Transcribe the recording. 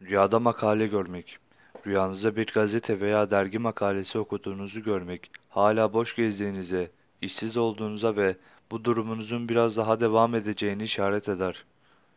Rüyada makale görmek. Rüyanızda bir gazete veya dergi makalesi okuduğunuzu görmek, hala boş gezdiğinize, işsiz olduğunuza ve bu durumunuzun biraz daha devam edeceğini işaret eder.